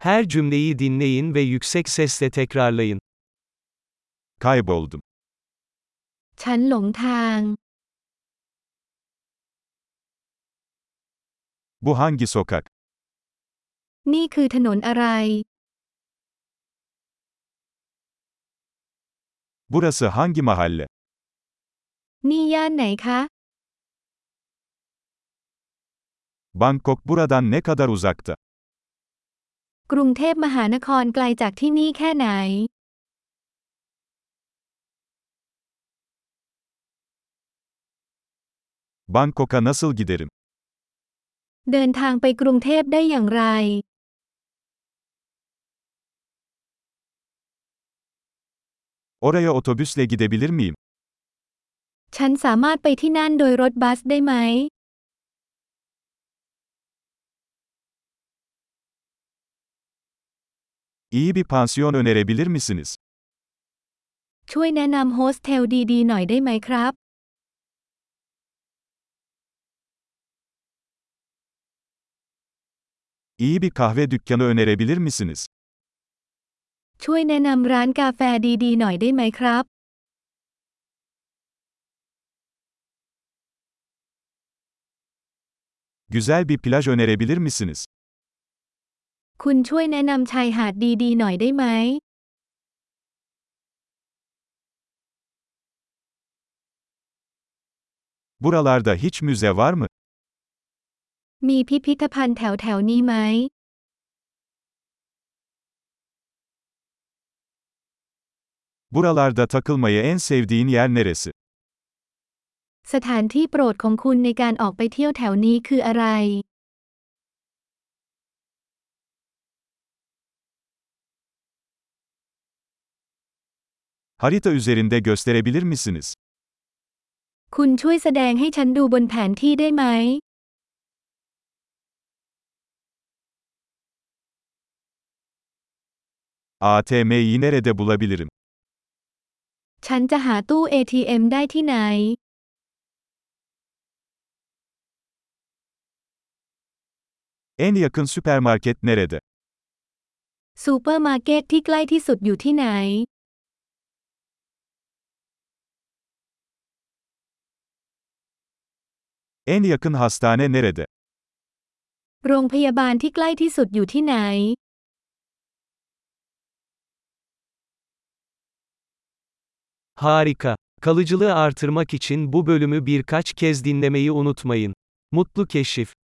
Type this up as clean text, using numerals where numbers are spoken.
Her cümleyi dinleyin ve yüksek sesle tekrarlayın. Kayboldum. ฉันหลงทาง Bu hangi sokak? นี่คือถนนอะไร Burası hangi mahalle? นี่ย่านไหนคะ Bangkok buradan ne kadar uzakta? กรุงเทพมหานครไกลจากที่นี่แค่ไหน Bangkok'a nasıl giderim? เดินทางไปกรุงเทพได้อย่างไร Oraya otobüsle gidebilir miyim? ฉันสามารถไปที่นั่นโดยรถบัสได้ไหม İyi bir pansiyon önerebilir misiniz? ช่วยแนะนำโฮสเทลดีๆหน่อยได้ไหมครับ İyi bir kahve dükkanı önerebilir misiniz? ช่วยแนะนำร้านกาแฟดีๆหน่อยได้ไหมครับ Güzel bir plaj önerebilir misiniz? คุณช่วยแนะนำชายหาดดีๆหน่อยได้ไหม Buralarda hiç müze var mı? มีพิพิธภัณฑ์แถวๆนี้ไหม Buralarda takılmayı en sevdiğin yer neresi? สถานที่โปรดของคุณในการออกไปเที่ยวแถวนี้คืออะไร Harita üzerinde gösterebilir misiniz? คุณช่วยแสดงให้ฉันดูบนแผนที่ได้ไหม ATM'yi nerede bulabilirim? ฉันจะหาตู้ ATM ได้ที่ไหน En yakın süpermarket nerede? ซูเปอร์มาร์เก็ตที่ใกล้ที่สุดอยู่ที่ไหน En yakın hastane nerede? โรงพยาบาลที่ใกล้ที่สุดอยู่ที่ไหน Harika. Kalıcılığı artırmak için bu bölümü birkaç kez dinlemeyi unutmayın. Mutlu keşif.